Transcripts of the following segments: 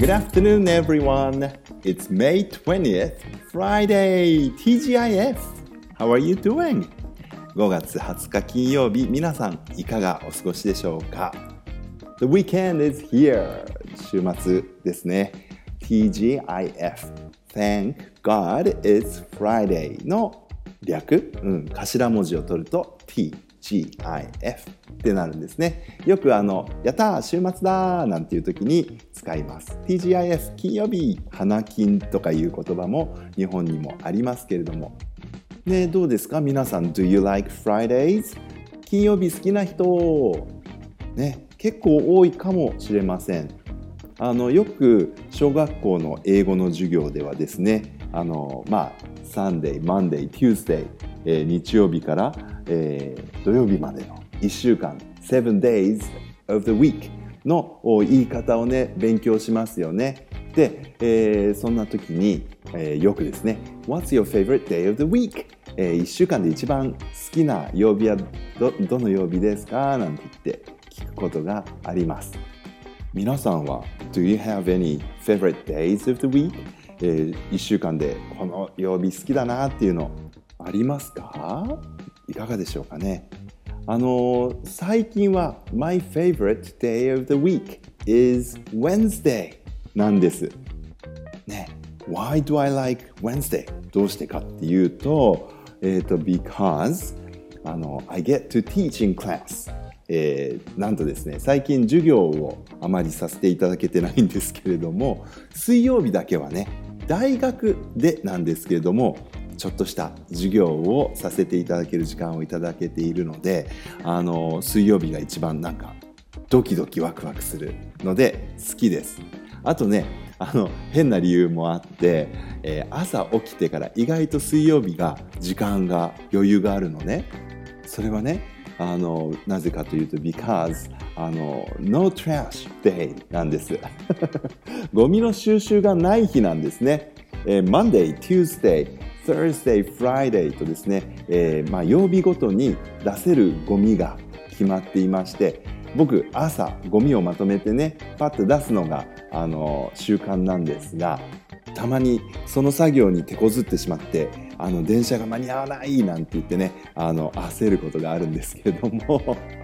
Good afternoon, everyone. It's May 20th, Friday, TGIF. How are you doing? 5月20日金曜日、皆さんいかがお過ごしでしょうか？ The weekend is here. 週末ですね。TGIF. Thank God it's Friday の略、頭文字を取ると TGIF ってなるんですね。よくやったー週末だーなんていう時に使います。TGIF 金曜日、花金とかいう言葉も日本にもありますけれども、ね、どうですか皆さん Do you like Fridays? 金曜日好きな人、ね、結構多いかもしれません。よく小学校の英語の授業ではですね、Sunday, Monday, Tuesday、日曜日から、土曜日までの1週間、7 days of the week の言い方をね、勉強しますよね。で、そんな時に、よくですね、What's your favorite day of the week? 1週間で一番好きな曜日はどの曜日ですかなんて言って聞くことがあります。皆さんは Do you have any favorite days of the week? 1週間でこの曜日好きだなっていうのありますか？いかがでしょうかね。最近は My favorite day of the week is Wednesday なんです。ね。Why do I like Wednesday? どうしてかっていうと、because I get to teach in class。なんとですね、最近授業をあまりさせていただけてないんですけれども、水曜日だけはね、大学でなんですけれども、ちょっとした授業をさせていただける時間をいただけているので、水曜日が一番なんかドキドキワクワクするので好きです。あとね、変な理由もあって、朝起きてから意外と水曜日が時間が余裕があるのね。それはね、なぜかというと because no trash day なんですゴミの収集がない日なんですね。Monday, Tuesday, Thursday, Friday とですね、曜日ごとに出せるゴミが決まっていまして、僕朝ゴミをまとめてねパッと出すのが習慣なんですが、たまにその作業に手こずってしまって電車が間に合わないなんて言ってね焦ることがあるんですけれども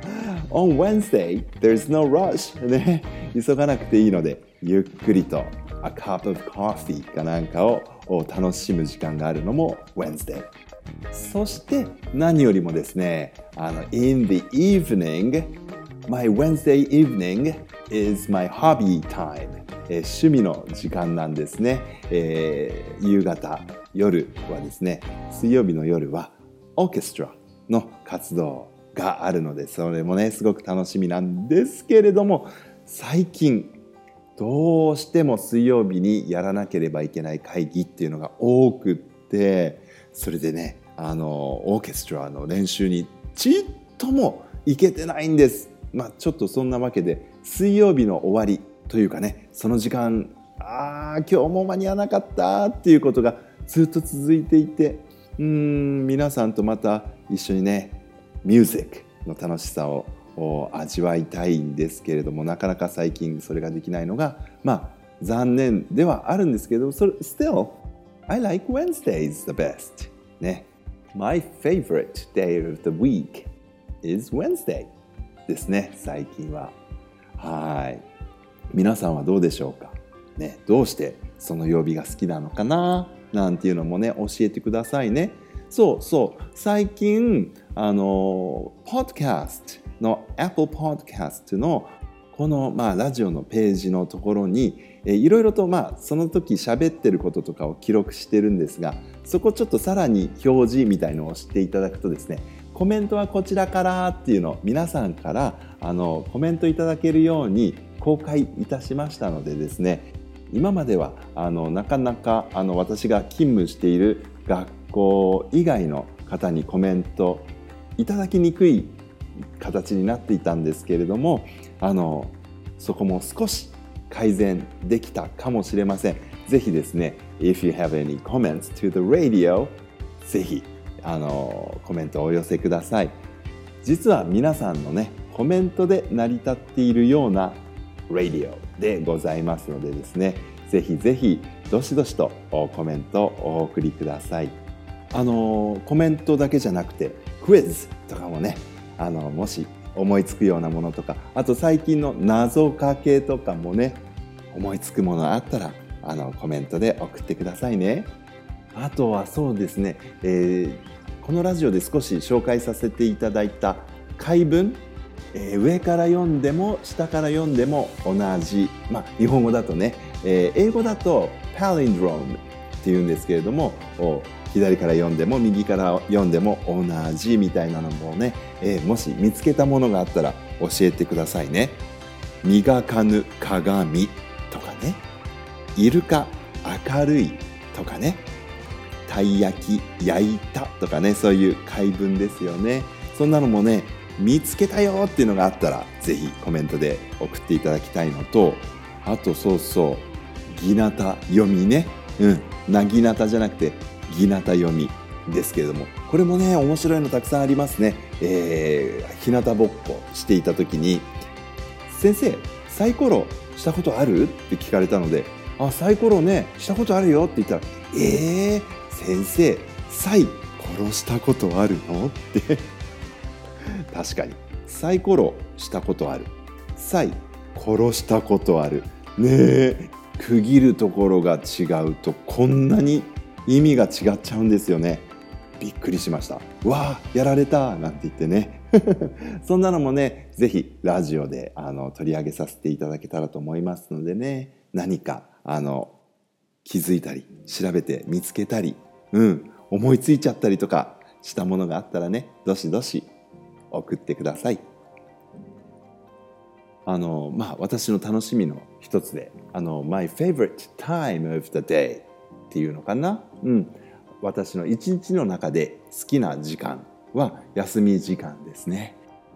On Wednesday, there's no rush ね、急がなくていいのでゆっくりと A cup of coffee かなんかを楽しむ時間があるのも Wednesday。 そして何よりもですねIn the evening, my Wednesday evening is my hobby time。趣味の時間なんですね。夕方、夜はですね、水曜日の夜はオーケストラの活動があるので、それもね、すごく楽しみなんですけれども、最近、どうしても水曜日にやらなければいけない会議っていうのが多くって、それでね、オーケストラの練習にちっとも行けてないんです。ちょっとそんなわけで、水曜日の終わり、というかね、その時間、今日も間に合わなかったっていうことがずっと続いていて、皆さんとまた一緒にね、ミュージックの楽しさを味わいたいんですけれども、なかなか最近それができないのが、残念ではあるんですけど、still, I like Wednesdays the best. ね。My favorite day of the week is Wednesday ですね、最近は。はい。皆さんはどうでしょうか、ね、どうしてその曜日が好きなのかななんていうのもね教えてくださいね。そう最近podcast の Apple Podcast のこの、ラジオのページのところにいろいろとその時喋ってることとかを記録してるんですが、そこちょっとさらに表示みたいのをしていただくとですね、コメントはこちらからっていうのを皆さんからコメントいただけるように公開いたしましたのでですね、今まではなかなか私が勤務している学校以外の方にコメントいただきにくい形になっていたんですけれども、そこも少し改善できたかもしれません。ぜひですね If you have any comments to the radio ぜひコメントをお寄せください。実は皆さんのねコメントで成り立っているようなラジオでございますのでですね、ぜひぜひどしどしとコメントをお送りください。コメントだけじゃなくてクイズとかもね、もし思いつくようなものとか、あと最近の謎かけとかもね、思いつくものあったらコメントで送ってくださいね。あとはそうですね、このラジオで少し紹介させていただいた回文、上から読んでも下から読んでも同じ、日本語だとね、英語だとパリンドロームっていうんですけれども、左から読んでも右から読んでも同じみたいなのもね、もし見つけたものがあったら教えてくださいね。磨かぬ鏡とかね、イルカ明るいとかね、たい焼き焼いたとかね、そういう回文ですよね。そんなのもね、見つけたよっていうのがあったらぜひコメントで送っていただきたいのと、あとぎなた読みね、なぎなたじゃなくてぎなた読みですけれども、これもね面白いのたくさんありますね。日向ぼっこしていた時に、先生サイコロしたことあるって聞かれたので、サイコロねしたことあるよって言ったら、先生サイ殺したことあるのって確かにサイコロしたことある、サイ殺したことあるねえ、区切るところが違うとこんなに意味が違っちゃうんですよね。びっくりしました。わあやられたなんて言ってねそんなのもね、ぜひラジオで取り上げさせていただけたらと思いますのでね、何か気づいたり調べて見つけたり、思いついちゃったりとかしたものがあったらね、どしどし送ってください。私の楽しみの一つでMy favorite time of the day っていうのかな、私の一日の中で好きな時間は休み時間ですね。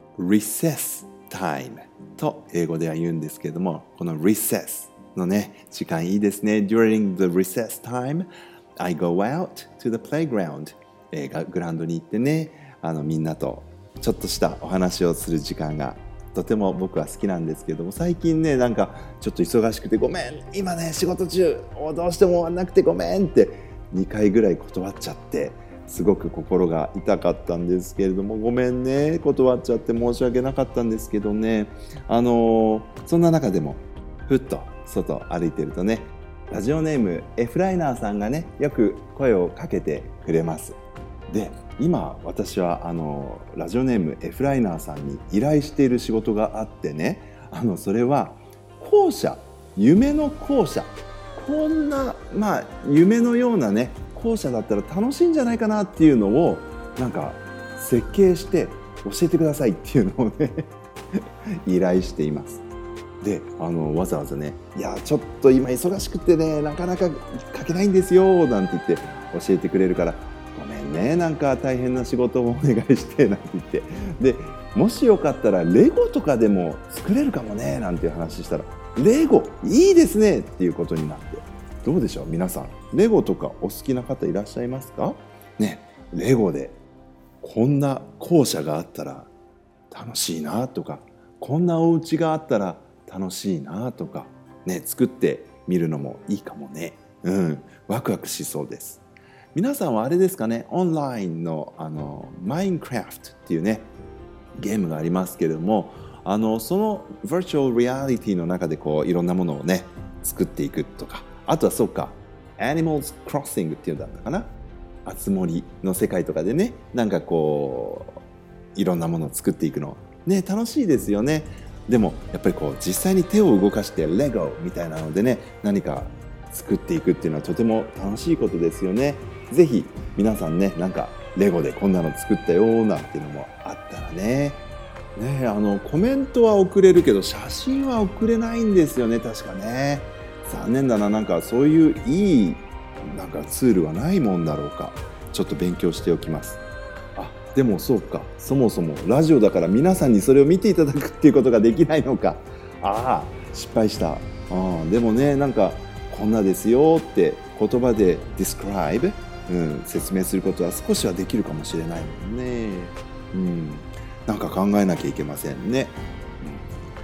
Recess time と英語では言うんですけれども、この Recess のね時間いいですね。 During the recess time I go out to the playground、グラウンドに行ってね、みんなとちょっとしたお話をする時間がとても僕は好きなんですけども、最近ねなんかちょっと忙しくて、ごめん今ね仕事中どうしても終わんなくてごめんって2回ぐらい断っちゃって、すごく心が痛かったんですけれども、ごめんね断っちゃって申し訳なかったんですけどね、そんな中でもふっと外歩いてるとね、ラジオネームエフライナーさんがねよく声をかけてくれます。で今私はラジオネームエフライナーさんに依頼している仕事があってね、それは校舎、夢の校舎、こんな夢のようなね校舎だったら楽しいんじゃないかなっていうのをなんか設計して教えてくださいっていうのをね依頼しています。でわざわざね、いやちょっと今忙しくてねなかなか書けないんですよなんて言って教えてくれるから、ごめんねなんか大変な仕事をお願いしてなんて言って、でもしよかったらレゴとかでも作れるかもねなんていう話したら、レゴいいですねっていうことになって、どうでしょう皆さん、レゴとかお好きな方いらっしゃいますかね。レゴでこんな校舎があったら楽しいなとか、こんなお家があったら楽しいなとかね、作ってみるのもいいかもね。ワクワクしそうです。皆さんはあれですかね、オンラインのマインクラフトっていうねゲームがありますけれども、その Virtual Reality の中でこういろんなものをね作っていくとか、あとはそうか Animals Crossing っていうんだったかな、あつ森の世界とかでね、なんかこういろんなものを作っていくのね楽しいですよね。でもやっぱりこう実際に手を動かしてレゴみたいなのでね何か作っていくっていうのはとても楽しいことですよね。ぜひ皆さんねなんかレゴでこんなの作ったよなんていうのもあったらね、コメントは送れるけど写真は送れないんですよね確かね。残念だな。なんかそういういいなんかツールはないもんだろうか。ちょっと勉強しておきます。でもそうか、そもそもラジオだから皆さんにそれを見ていただくっていうことができないのか。失敗した。でもねなんかこんなですよって言葉で describe、説明することは少しはできるかもしれないもんね。なんか考えなきゃいけませんね。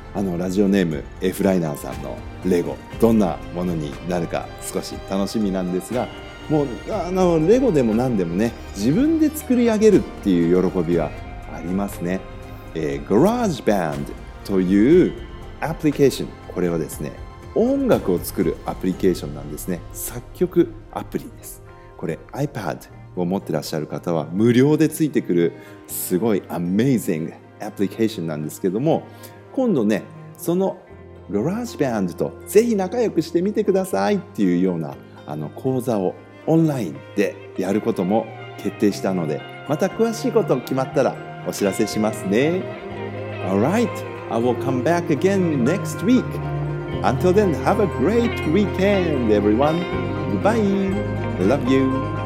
ラジオネーム F ライナーさんのレゴ、どんなものになるか少し楽しみなんですが、もうレゴでも何でもね、自分で作り上げるっていう喜びはありますね。GarageBand というアプリケーション、これはですね、音楽を作るアプリケーションなんですね。作曲アプリです。これ iPad を持ってらっしゃる方は無料でついてくるすごい Amazing アプリケーションなんですけども、今度ね、その GarageBand とぜひ仲良くしてみてくださいっていうような講座をオンラインでやることも決定したので、また詳しいこと決まったらお知らせしますね。Alright, I will come back again next week. Until then, have a great weekend, everyone. Goodbye. I love you.